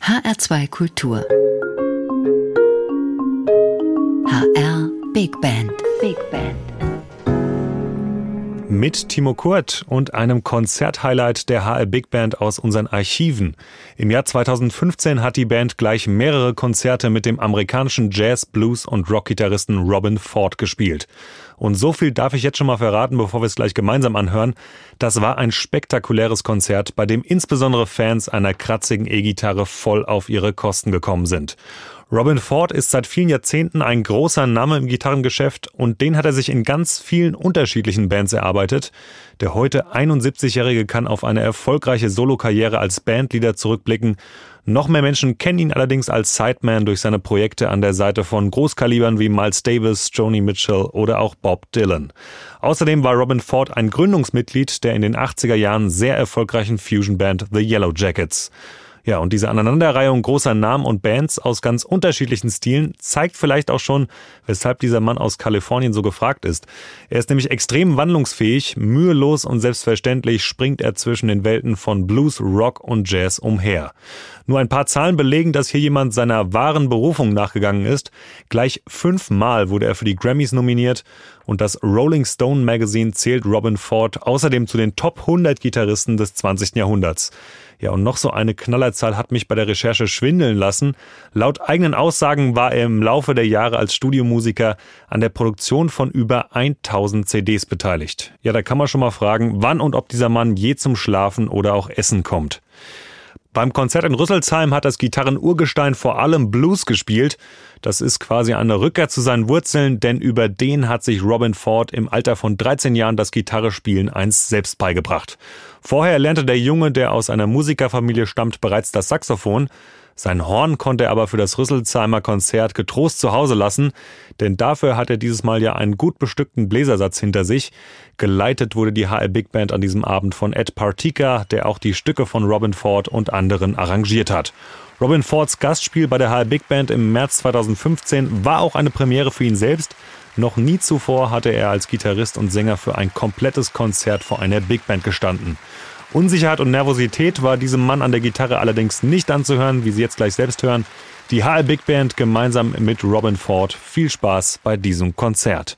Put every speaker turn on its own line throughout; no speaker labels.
HR2 Kultur. HR Big Band. Big Band.
Mit Timo Kurt und einem Konzerthighlight der HR Big Band aus unseren Archiven. Im Jahr 2015 hat die Band gleich mehrere Konzerte mit dem amerikanischen Jazz-, Blues- und Rock-Gitarristen Robben Ford gespielt. Und so viel darf ich jetzt schon mal verraten, bevor wir es gleich gemeinsam anhören. Das war ein spektakuläres Konzert, bei dem insbesondere Fans einer kratzigen E-Gitarre voll auf ihre Kosten gekommen sind. Robben Ford ist seit vielen Jahrzehnten ein großer Name im Gitarrengeschäft und den hat er sich in ganz vielen unterschiedlichen Bands erarbeitet. Der heute 71-Jährige kann auf eine erfolgreiche Solokarriere als Bandleader zurückblicken. Noch mehr Menschen kennen ihn allerdings als Sideman durch seine Projekte an der Seite von Großkalibern wie Miles Davis, Joni Mitchell oder auch Bob Dylan. Außerdem war Robben Ford ein Gründungsmitglied der in den 80er Jahren sehr erfolgreichen Fusion-Band The Yellow Jackets. Ja, und diese Aneinanderreihung großer Namen und Bands aus ganz unterschiedlichen Stilen zeigt vielleicht auch schon, weshalb dieser Mann aus Kalifornien so gefragt ist. Er ist nämlich extrem wandlungsfähig, mühelos und selbstverständlich springt er zwischen den Welten von Blues, Rock und Jazz umher. Nur ein paar Zahlen belegen, dass hier jemand seiner wahren Berufung nachgegangen ist. Gleich 5-mal wurde er für die Grammys nominiert und das Rolling Stone Magazine zählt Robben Ford außerdem zu den Top 100 Gitarristen des 20. Jahrhunderts. Ja, und noch so eine Knallerzahl hat mich bei der Recherche schwindeln lassen. Laut eigenen Aussagen war er im Laufe der Jahre als Studiomusiker an der Produktion von über 1000 CDs beteiligt. Ja, da kann man schon mal fragen, wann und ob dieser Mann je zum Schlafen oder auch Essen kommt. Beim Konzert in Rüsselsheim hat das Gitarrenurgestein vor allem Blues gespielt. Das ist quasi eine Rückkehr zu seinen Wurzeln, denn über den hat sich Robben Ford im Alter von 13 Jahren das Gitarrespielen einst selbst beigebracht. Vorher lernte der Junge, der aus einer Musikerfamilie stammt, bereits das Saxophon. Sein Horn konnte er aber für das Rüsselsheimer Konzert getrost zu Hause lassen, denn dafür hat er dieses Mal ja einen gut bestückten Bläsersatz hinter sich. Geleitet wurde die HR Big Band an diesem Abend von Ed Partika, der auch die Stücke von Robben Ford und anderen arrangiert hat. Robben Fords Gastspiel bei der HR Big Band im März 2015 war auch eine Premiere für ihn selbst. Noch nie zuvor hatte er als Gitarrist und Sänger für ein komplettes Konzert vor einer Big Band gestanden. Unsicherheit und Nervosität war diesem Mann an der Gitarre allerdings nicht anzuhören, wie Sie jetzt gleich selbst hören. Die HR Big Band gemeinsam mit Robben Ford. Viel Spaß bei diesem Konzert.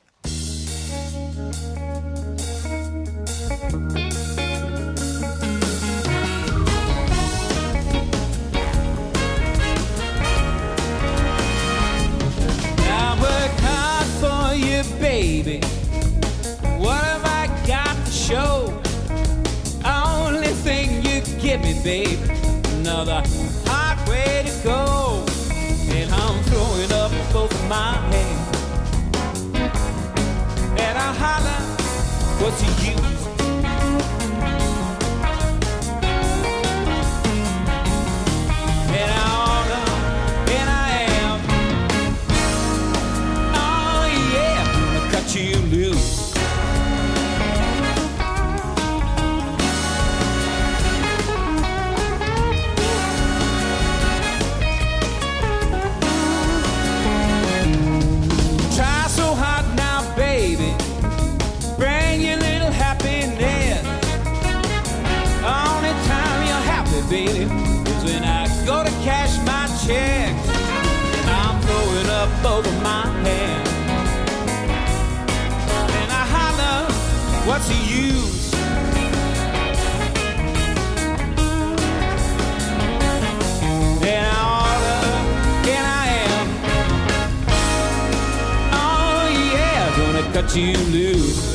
Baby, what have I got to show? Only thing you give me, babe, another hard way to go. And I'm throwing up both of my hands, and I holler, what's the use? And I order, and I am, oh yeah, cut you loose. Try so hard now, baby, bring your little happiness. Only time you're happy, baby, is when I go to cash my check. And I'm throwing up both of my hands, and I holler, what's the use? And I order, and I am, oh yeah, gonna cut you loose.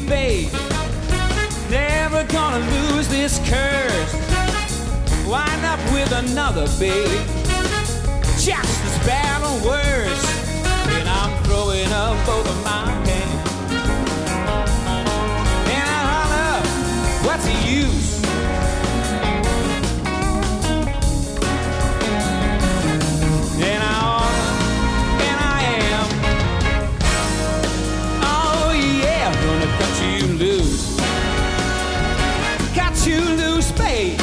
baby. Never gonna lose this curse. Wind up with another, babe. Just as bad or worse. And I'm throwing up both of my hands. And I holler, what's the use? And I ought, and I am. Oh yeah, I'm gonna cut you loose. Got you loose, babe.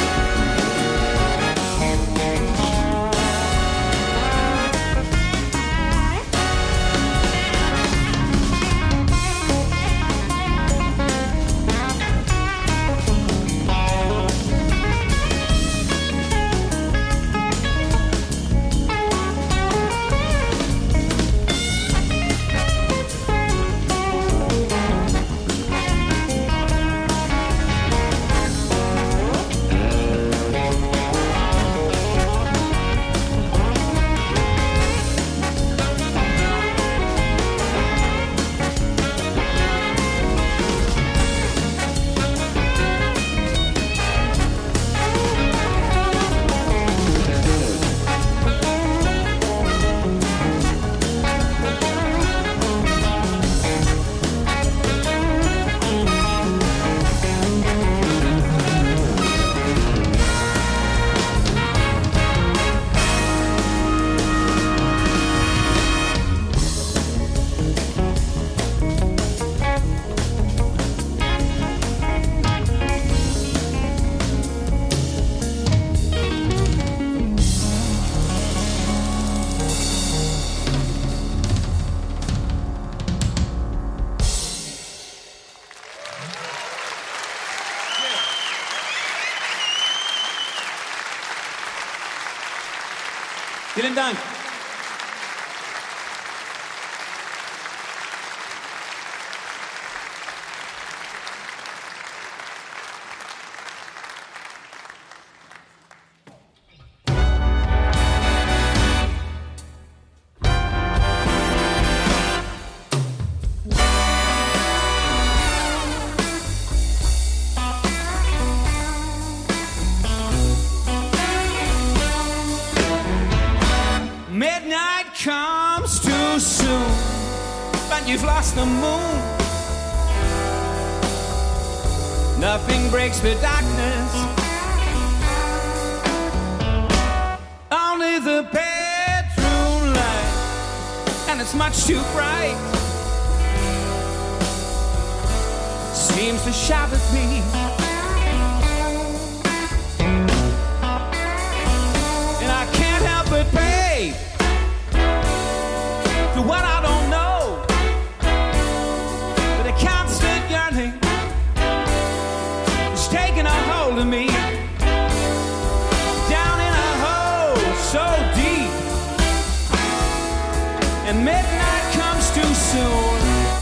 Vielen Dank. Midnight comes too soon, but you've lost the moon. Nothing breaks the darkness, only the bedroom light, and it's much too bright. Seems to shout at me. And I can't help but pay to what I don't know, but a constant yearning is taking a hold of me, down in a hole so deep, and midnight comes too soon.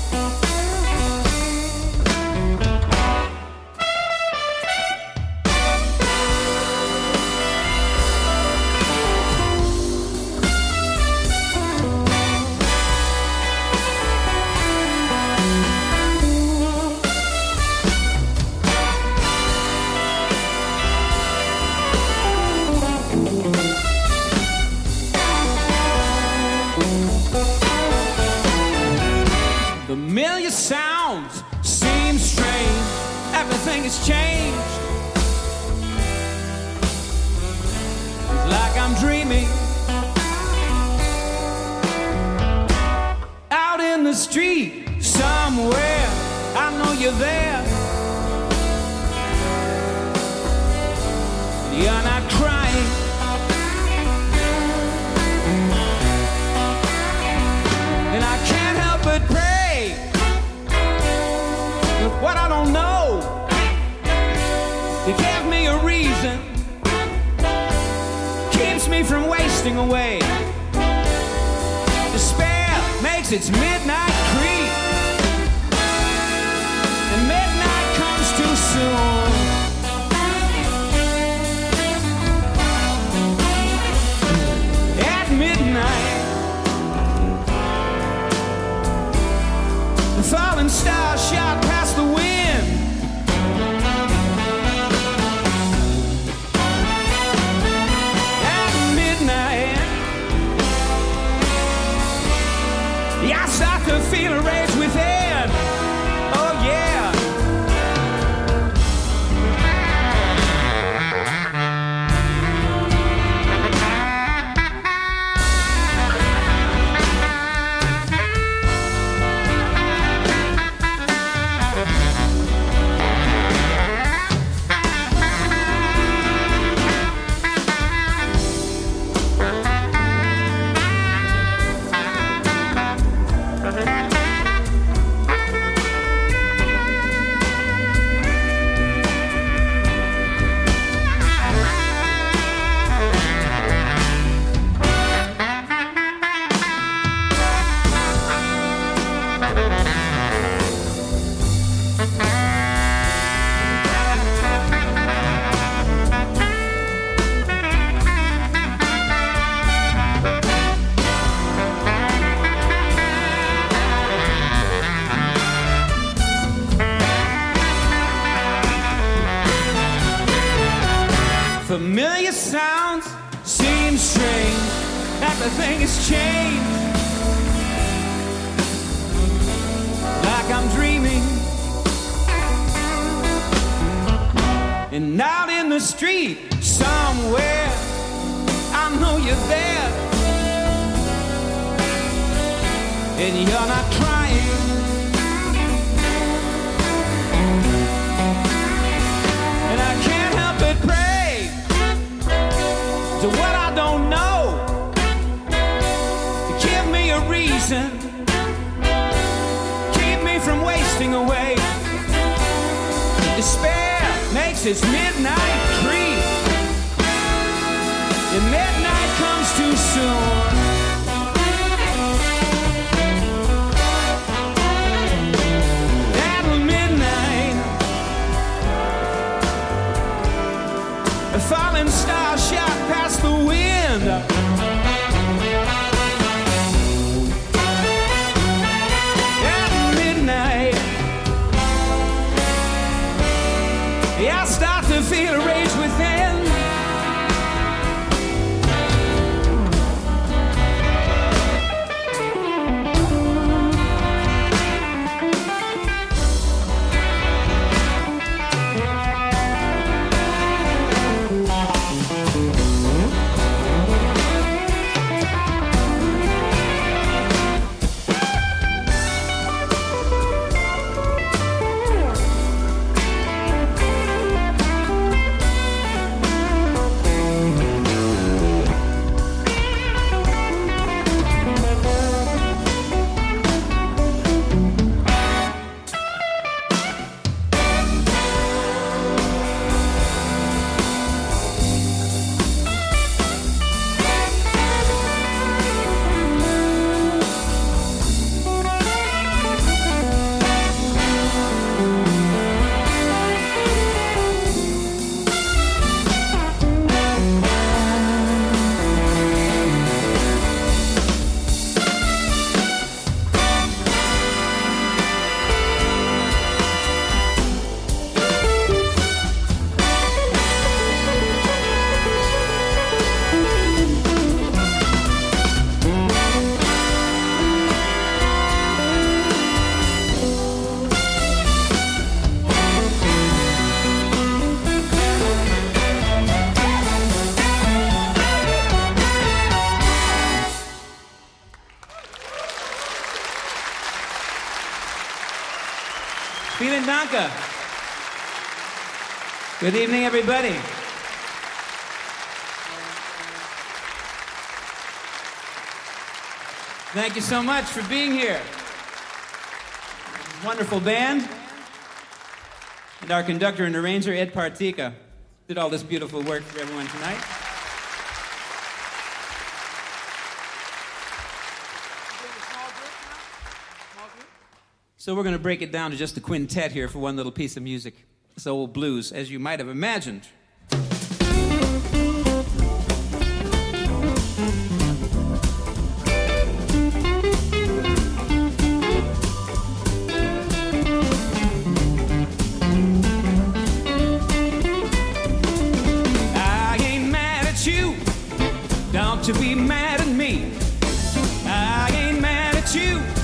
Familiar sounds seem strange. Everything has changed. It's like I'm dreaming. Out in the street somewhere, I know you're there. You're not crying. And I can't help but pray with what I don't know. You gave me a reason, keeps me from wasting away. Despair makes its midnight creep, and midnight comes too soon. At midnight, the falling stars shot past the window. Yeah, I start to feel a rage within. Oh yeah. Familiar sounds seem strange. Everything has changed. Like I'm dreaming. And out in the street somewhere, I know you're there. And you're not crying. And I can't help but pray to what I don't know, to give me a reason, keep me from wasting away. Despair makes its midnight creep, and midnight comes too soon. At midnight, a falling star shot past the wind. At midnight, yeah, I start to feel a rage within. Vielen Dank. Good evening, everybody. Thank you so much for being here. Wonderful band. And our conductor and arranger, Ed Partika, did all this beautiful work for everyone tonight. So we're going to break it down to just a quintet here for one little piece of music. It's old blues, as you might have imagined. I ain't mad at you, don't you be mad at me. I ain't mad at you,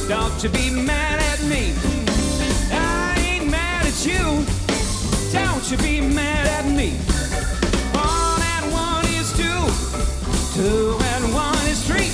Don't you be mad at me. I ain't mad at you. Don't you be mad at me. 1 and 1 is 2. 2 and 1 is 3.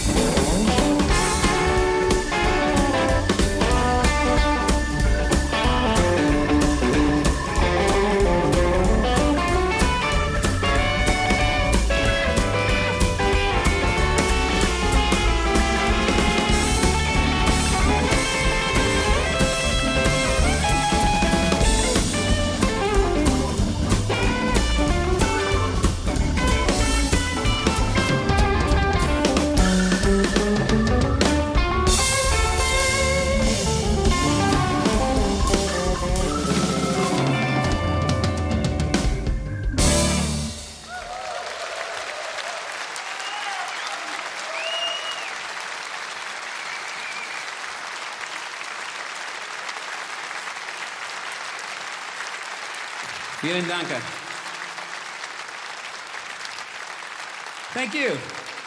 Vielen Dank. Thank you.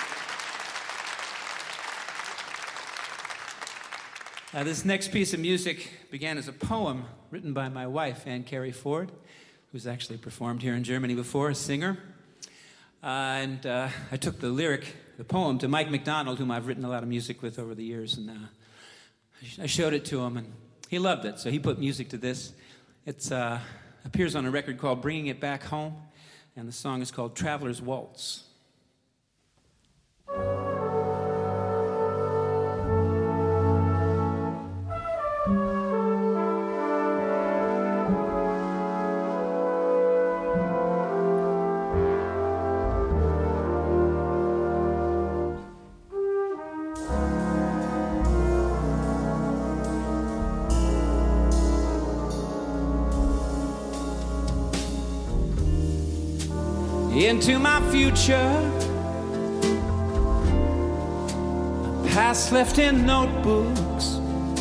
This next piece of music began as a poem written by my wife, Ann Carey Ford, who's actually performed here in Germany before, a singer. I took the poem, to Mike McDonald, whom I've written a lot of music with over the years, and I showed it to him, and he loved it, so he put music to this. It's appears on a record called Bringing It Back Home, and the song is called Traveler's Waltz. Into my future, past left in notebooks,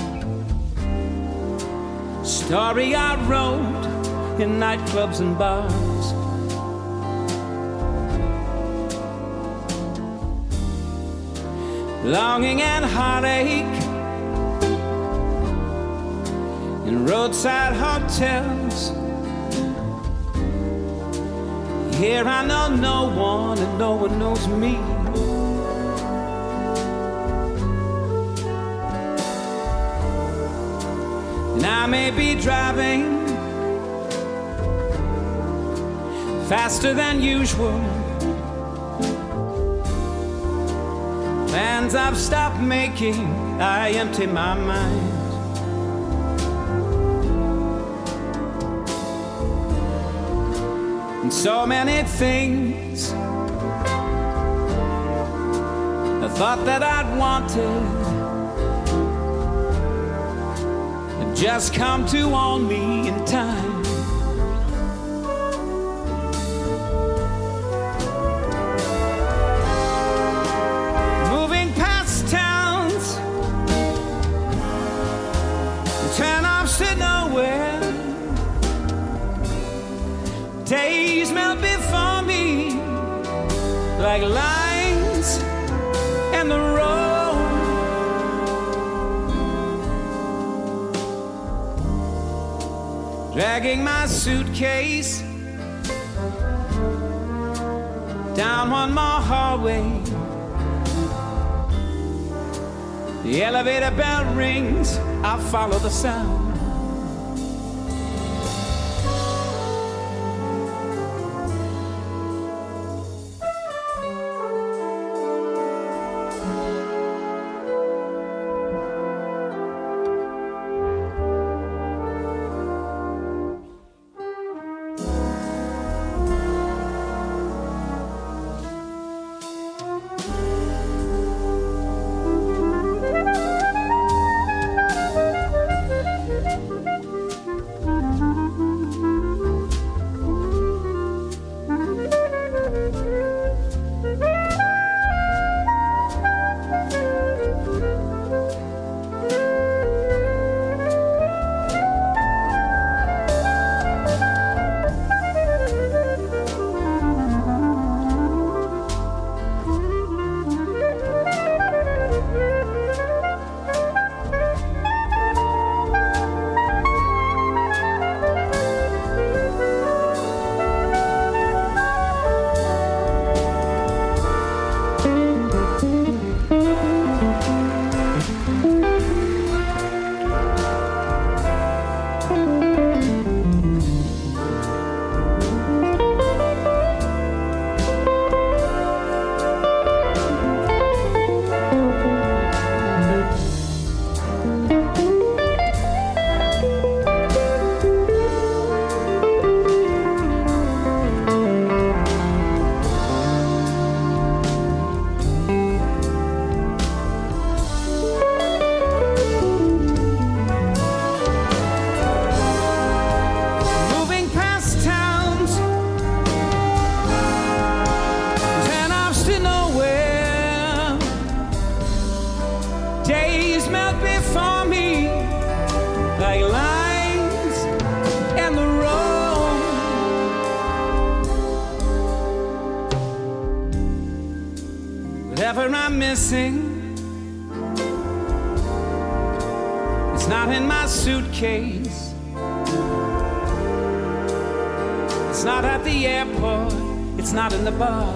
story I wrote in nightclubs and bars. Longing and heartache in roadside hotels. Here I know no one and no one knows me. And I may be driving faster than usual. Plans I've stopped making, I empty my mind. So many things I thought that I'd wanted have just come to own me in time. Moving past towns, turn-offs to nowhere. Days melt before me like lines in the road. Dragging my suitcase down one more hallway. The elevator bell rings, I follow the sound. up before me like lines in the road. Whatever I'm missing, it's not in my suitcase. It's not at the airport. It's not in the bar.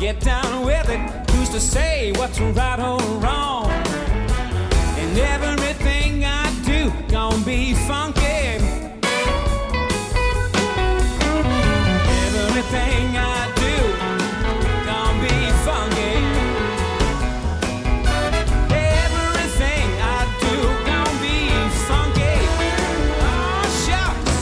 get down with it. Who's to say what's right or wrong? And everything I do gonna be funky. Everything I do gonna be funky. Everything I do gonna be funky. Oh, shucks.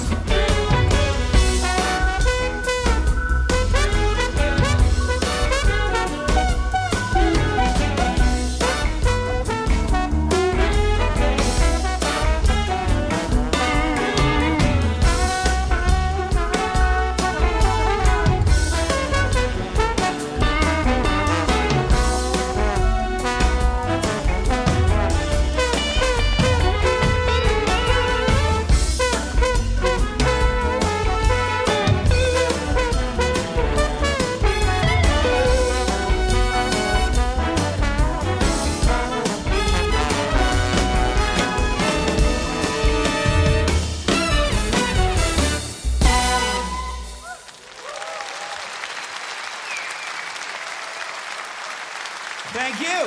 Thank you.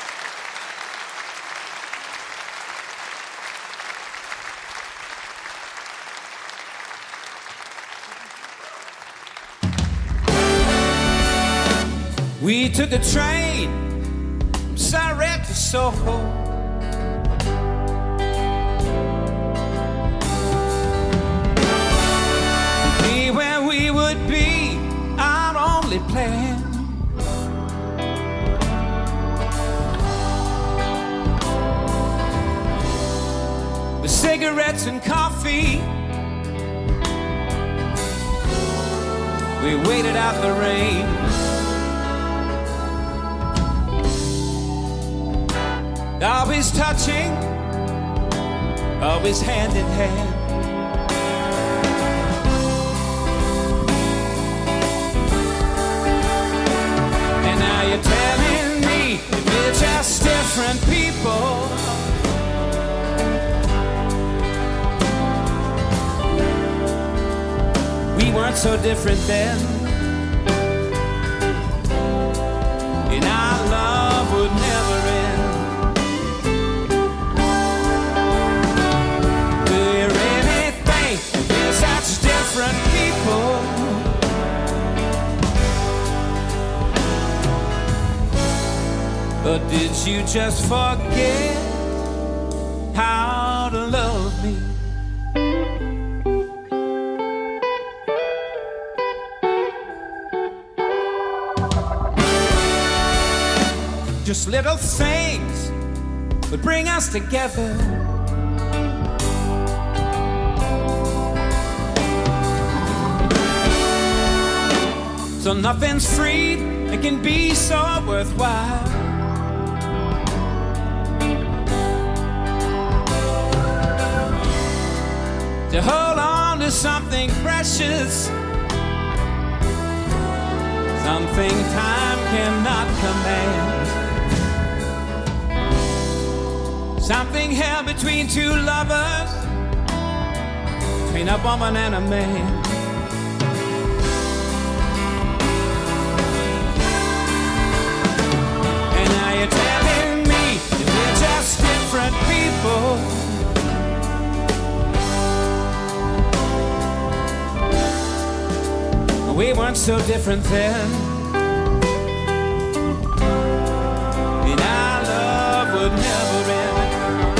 We took a train from Surrey to Soho. Be where we would be, our only plan. With cigarettes and coffee, we waited out the rain. Always touching, always hand in hand. And now you're telling me that we're just different people. We weren't so different then, and our love would never end. Such different people. But did you just forget how to love me? Just little things would bring us together. So nothing's free, it can be so worthwhile. To hold on to something precious, something time cannot command, something held between two lovers, between a woman and a man. You're telling me that we're just different people. We weren't so different then, and our love would never end.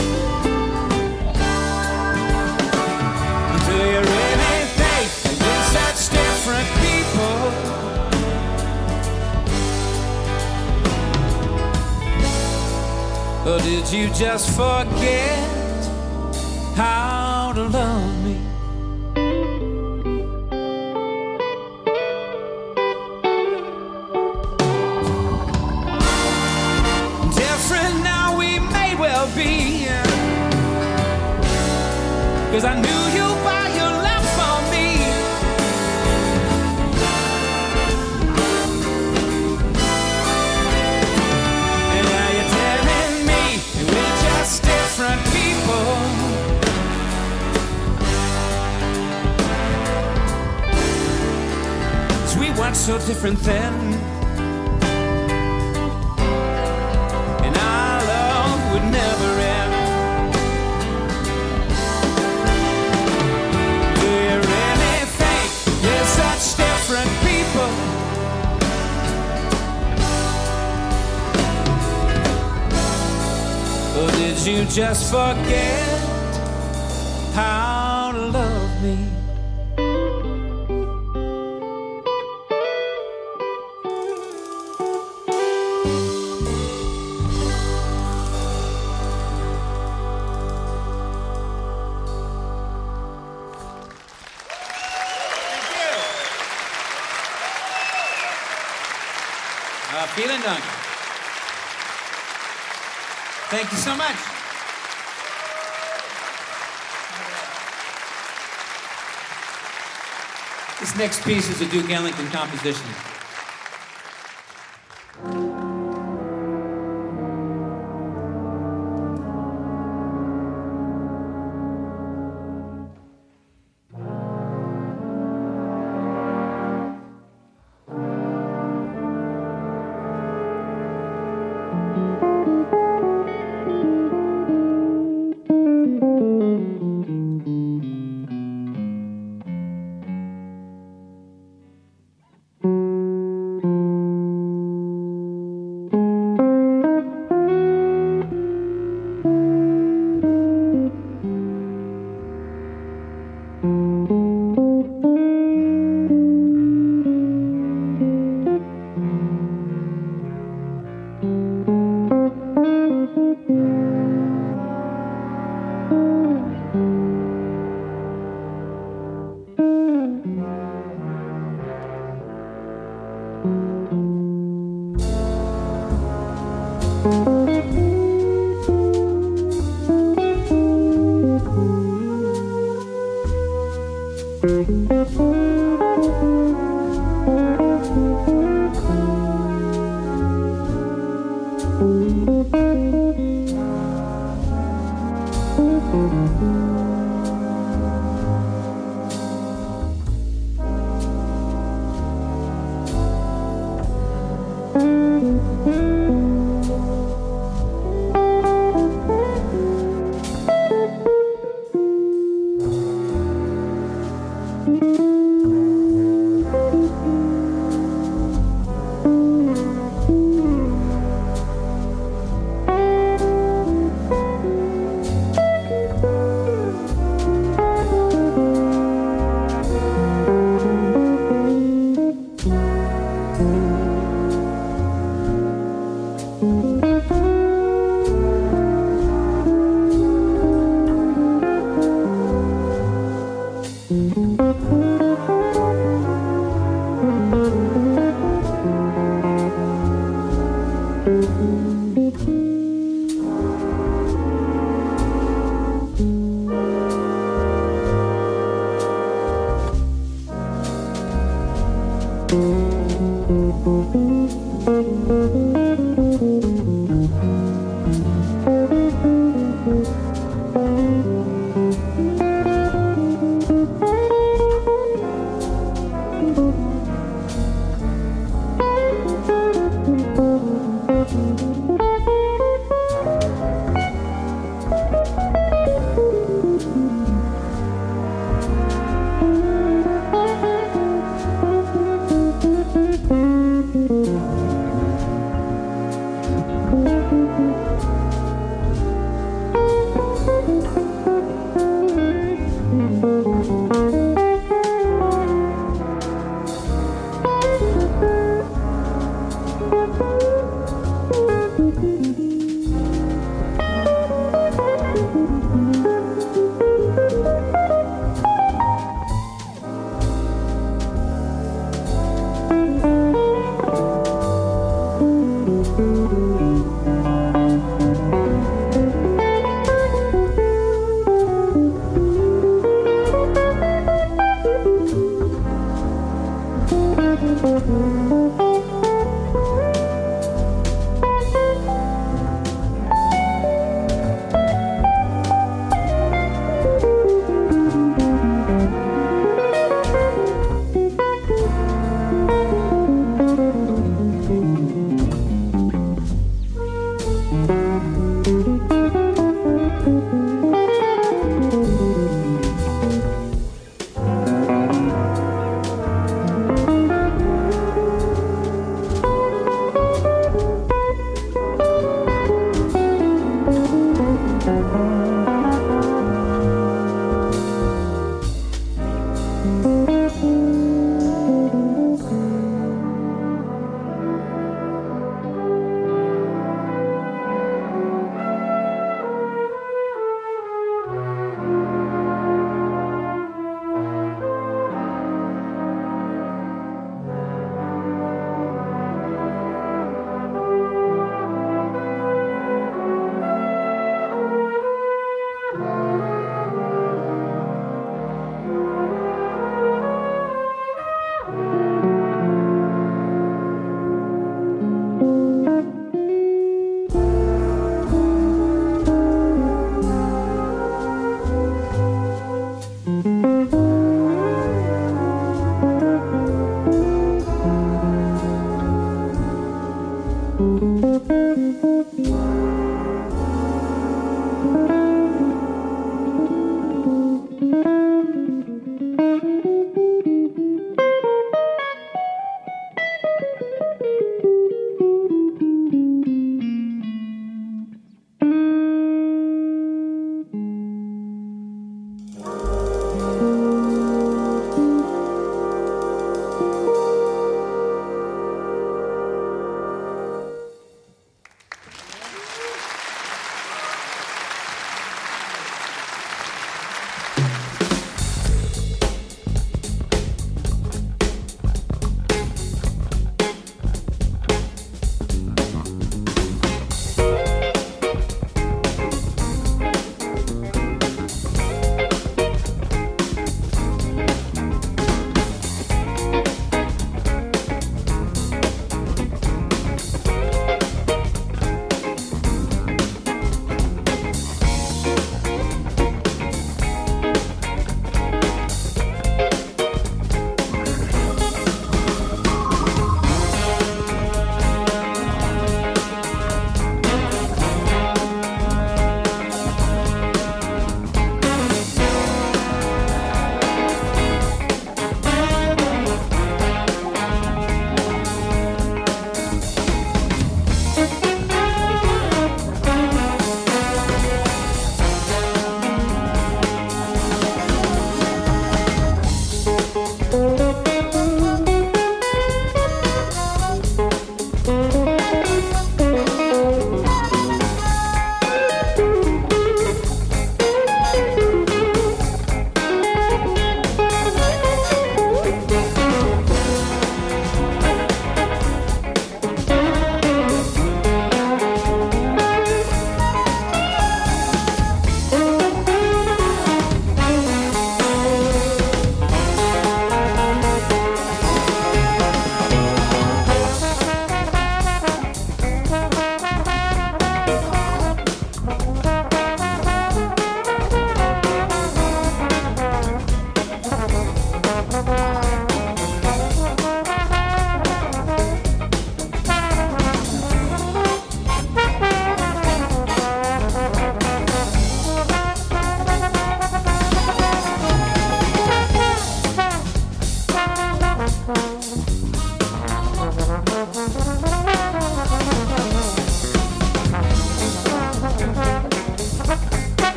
Do you really think that we're such different people? Or did you just forget how to love me? Different now we may well be, 'cause I knew you by your love for me. Different people. So we weren't so different then, you just forget how to love me?
Vielen Dank. Thank you so much. This next piece is a Duke Ellington composition.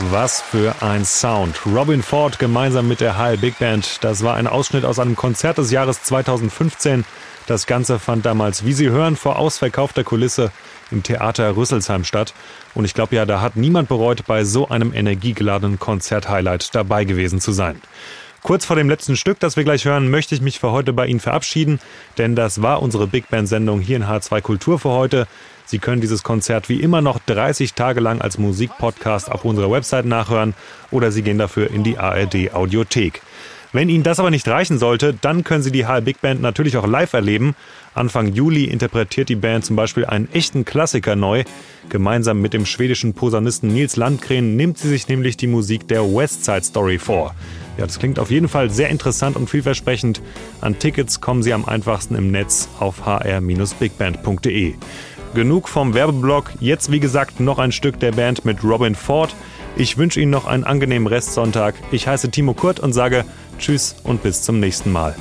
Was für ein Sound. Robin Ford gemeinsam mit der HR Big Band. Das war ein Ausschnitt aus einem Konzert des Jahres 2015. Das Ganze fand damals, wie Sie hören, vor ausverkaufter Kulisse im Theater Rüsselsheim statt. Und ich glaube ja, da hat niemand bereut, bei so einem energiegeladenen Konzert-Highlight dabei gewesen zu sein. Kurz vor dem letzten Stück, das wir gleich hören, möchte ich mich für heute bei Ihnen verabschieden, denn das war unsere Big Band-Sendung hier in H2 Kultur für heute. Sie können dieses Konzert wie immer noch 30 Tage lang als Musikpodcast auf unserer Website nachhören oder Sie gehen dafür in die ARD-Audiothek. Wenn Ihnen das aber nicht reichen sollte, dann können Sie die HR Big Band natürlich auch live erleben. Anfang Juli interpretiert die Band zum Beispiel einen echten Klassiker neu. Gemeinsam mit dem schwedischen Posaunisten Nils Landgren nimmt sie sich nämlich die Musik der West Side Story vor. Ja, das klingt auf jeden Fall sehr interessant und vielversprechend. An Tickets kommen Sie am einfachsten im Netz auf hr-bigband.de. Genug vom Werbeblock. Jetzt wie gesagt noch ein Stück der Band mit Robin Ford. Ich wünsche Ihnen noch einen angenehmen Restsonntag. Ich heiße Timo Kurt und sage Tschüss und bis zum nächsten Mal.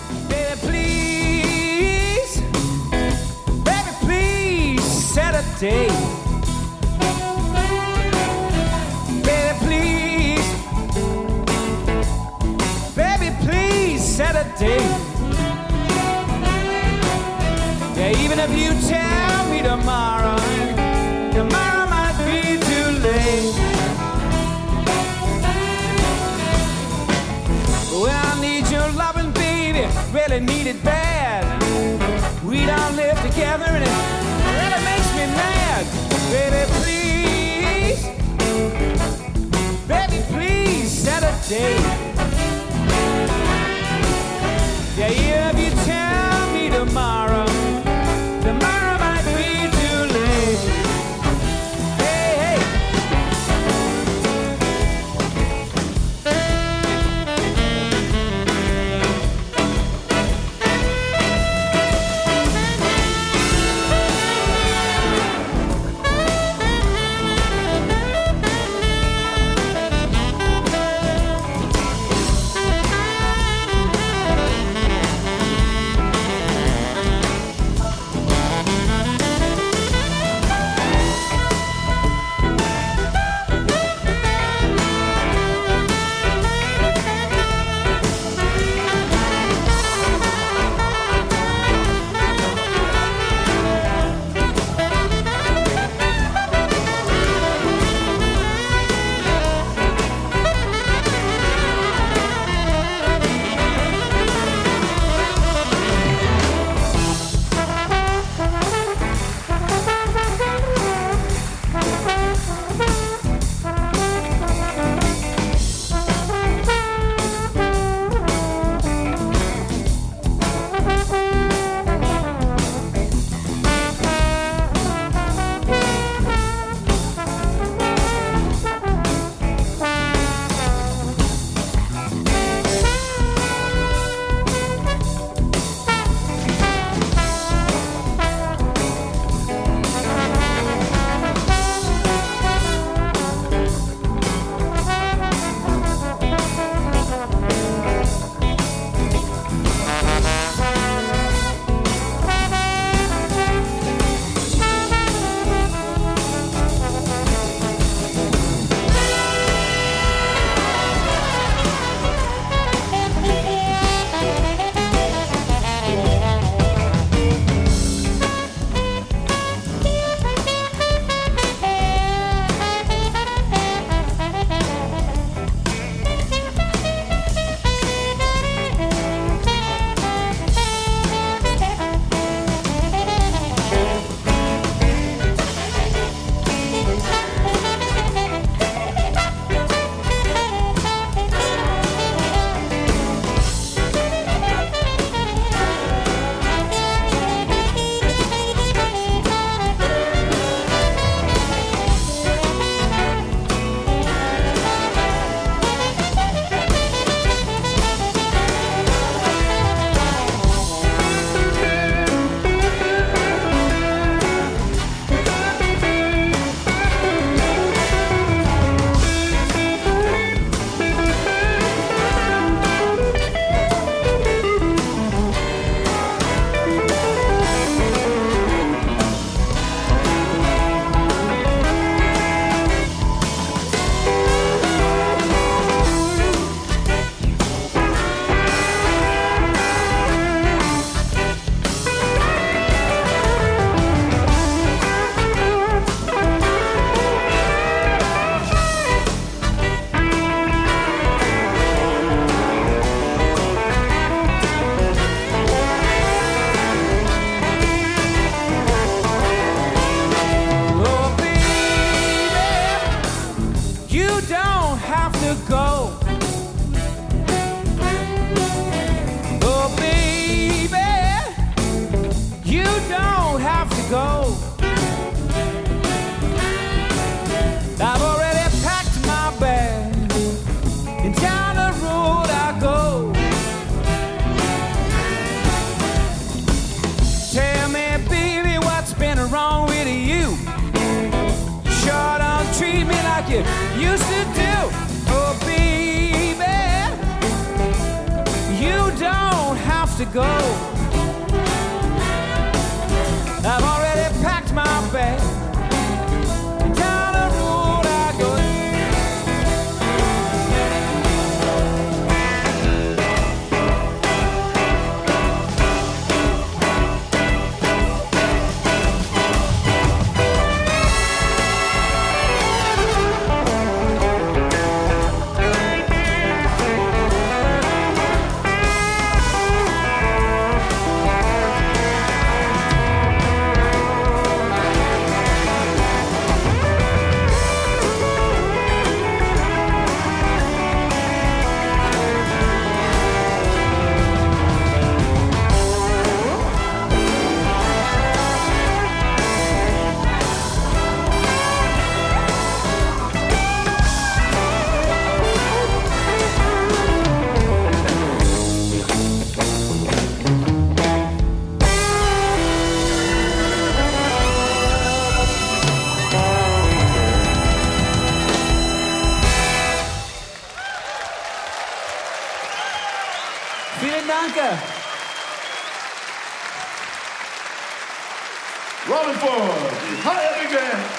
Yeah, even if you tell me tomorrow might be too late. Well, I need your loving, baby, really need it bad. We don't live together and it really makes me mad. Baby, please set a date. Yeah, if you tell me tomorrow might be too late. Hey, hey. you used to do. Oh, baby, you don't have to go. I've already packed my bag. Down the road I go. Vielen Dank.
Rolling forward, Hi Big Band.